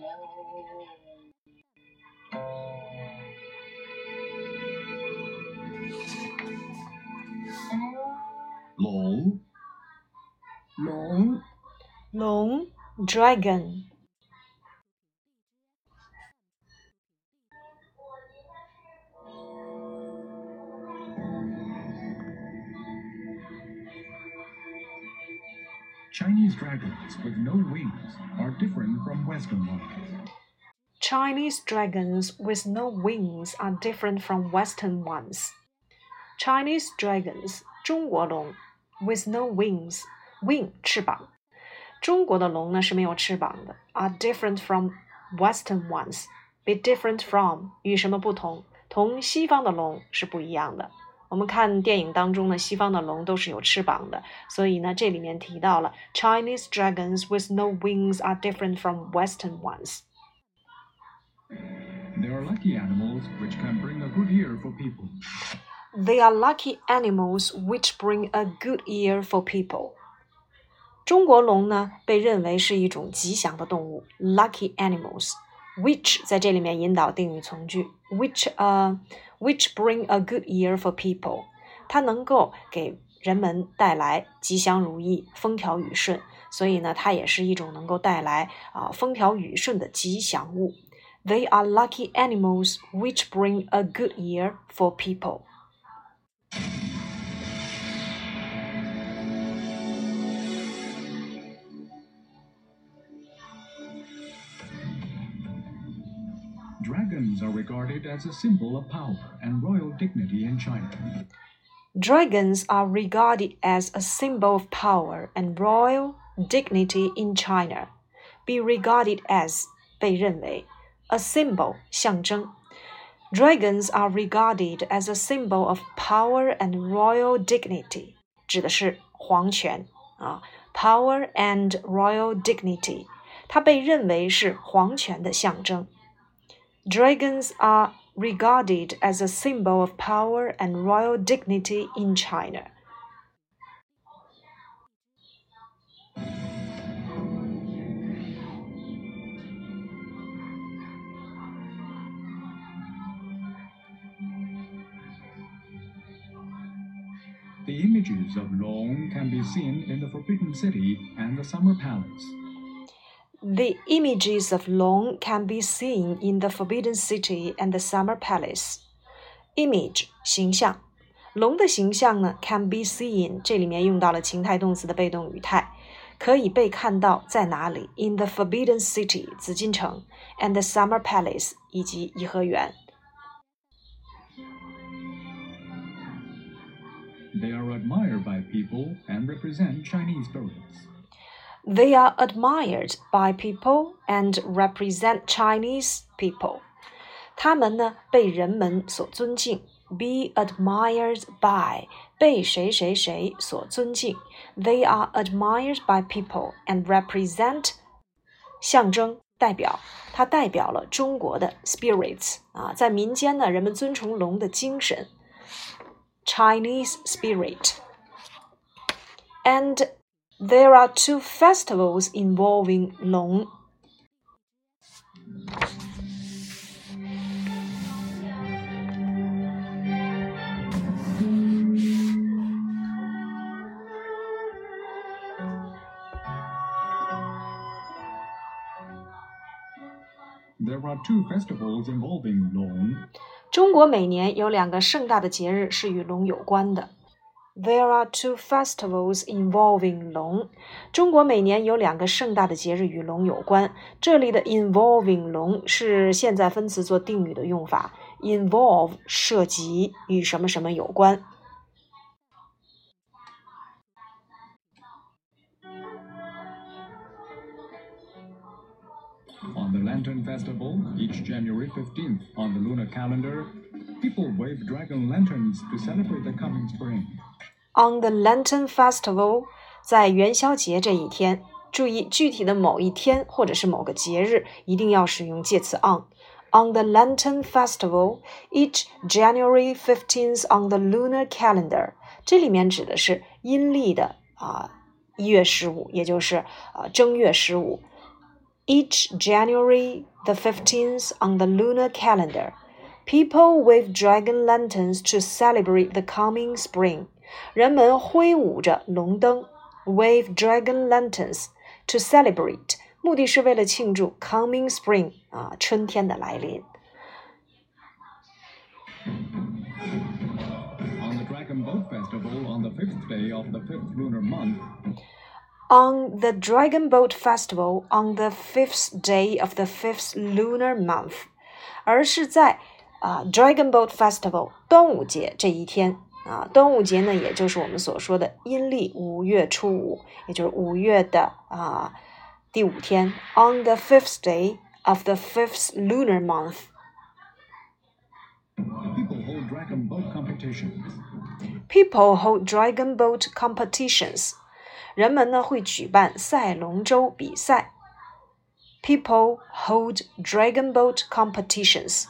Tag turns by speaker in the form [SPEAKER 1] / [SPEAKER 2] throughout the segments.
[SPEAKER 1] 龙
[SPEAKER 2] 龙 dragon
[SPEAKER 1] Chinese dragons with no wings are different from Western ones.
[SPEAKER 2] Chinese dragons with no wings are different from Western ones. Chinese dragons 中国龙 with no wings wing 翅膀，中国的龙呢是没有翅膀的 are different from Western ones. Be different from 与什么不同？同西方的龙是不一样的。我们看电影当中呢，西方的龙都是有翅膀的，所以呢，这里面提到了 Chinese dragons with no wings are different from Western ones.
[SPEAKER 1] They are lucky animals which can bring a good year for people.
[SPEAKER 2] They are lucky animals which bring a good year for people. 中国龙呢，被认为是一种吉祥的动物 ，lucky animals。Which 在这里面引导定语从句 which bring a good year for people， 它能够给人们带来吉祥如意、风调雨顺，所以呢，它也是一种能够带来风调雨顺的吉祥物。They are lucky animals which bring a good year for people.
[SPEAKER 1] Dragons are regarded as a symbol of power and royal dignity in China.
[SPEAKER 2] Dragons are regarded as a symbol of power and royal dignity in China. Be regarded as 被认为 a symbol 象征 Dragons are regarded as a symbol of power and royal dignity 指的是皇权power and royal dignity 它被认为是皇权的象征Dragons are regarded as a symbol of power and royal dignity in China.
[SPEAKER 1] The images of Long can be seen in the Forbidden City and the Summer Palace.
[SPEAKER 2] The images of Long can be seen in the Forbidden City and the Summer Palace. Image 形象，龙的形象呢 can be seen 这里面用到了情态动词的被动语态，可以被看到在哪里 ？In the Forbidden City 紫禁城 and the Summer Palace 以及颐和园。
[SPEAKER 1] They are admired by people and represent Chinese spirits.
[SPEAKER 2] They are admired by people and represent Chinese people. 他们呢被人们所尊敬 be admired by 被谁谁谁所尊敬 They are admired by people and represent 象征代表它代表了中国的 spirits 在民间呢人们尊崇龙的精神 Chinese spirit and there are two festivals involving Long.
[SPEAKER 1] There are two festivals involving Long.
[SPEAKER 2] 中国每年有2个盛大的节日是与龙有关的。There are two festivals involving 龙。中国每年有2个盛大的节日与龙有关。这里的 involving 龙是现在分词做定语的用法 ，involve 涉及与什么什么有关。
[SPEAKER 1] On the Lantern Festival, each January 15th on the lunar calendar, people wave dragon lanterns to celebrate the coming spring.
[SPEAKER 2] On the Lantern Festival, 在元宵节这一天，注意具体的某一天或者是某个节日，一定要使用介词 on. On the Lantern Festival, each January 15th on the lunar calendar. 这里面指的是阴历的1月15，也就是正月15。 Each January the 15th on the lunar calendar, people wave dragon lanterns to celebrate the coming spring. 人们挥舞着龙灯 wave dragon lanterns to celebrate 目的是为了庆祝 coming spring 春天的来临。
[SPEAKER 1] On the Dragon Boat Festival on the 5th day of the 5th lunar month,
[SPEAKER 2] On the Dragon Boat Festival on the 5th day of the 5th lunar month, 而是在Dragon Boat Festival 端午节这一天端午节呢，也就是我们所说的阴历5月初5，也就是5月的第5天。On the 5th day of the 5th lunar month,
[SPEAKER 1] people hold dragon boat competitions.
[SPEAKER 2] People hold dragon boat competitions. 人们呢会举办赛龙舟比赛。People hold dragon boat competitions.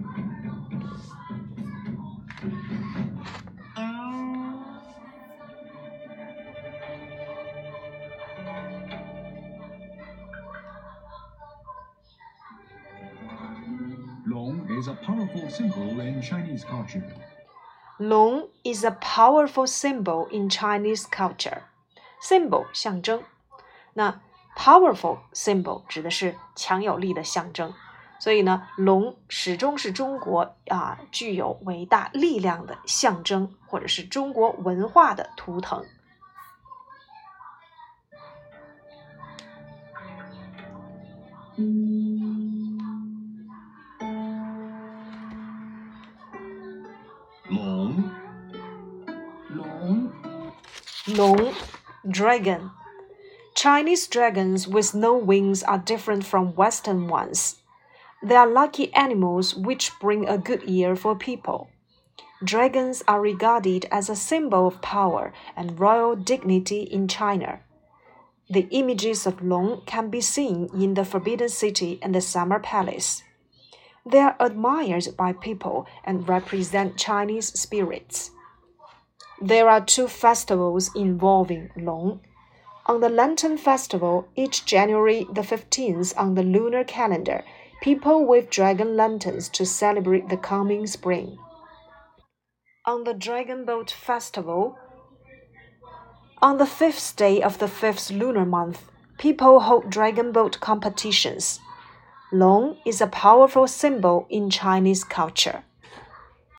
[SPEAKER 1] Long is a powerful symbol in Chinese culture.
[SPEAKER 2] Long is a powerful symbol in Chinese culture. Symbol 象征，那 powerful symbol 指的是强有力的象征，所以呢，龙始终是中国具有伟大力量的象征，或者是中国文化的图腾。龙 Dragon. Chinese dragons with no wings are different from Western ones. They are lucky animals which bring a good year for people. Dragons are regarded as a symbol of power and royal dignity in China. The images of Long can be seen in the Forbidden City and the Summer Palace. They are admired by people and represent Chinese spirits. There are 2 festivals involving Long. On the Lantern Festival, each January the 15th on the lunar calendar, people wave dragon lanterns to celebrate the coming spring. On the Dragon Boat Festival, on the 5th day of the 5th lunar month, people hold dragon boat competitions. Long is a powerful symbol in Chinese culture.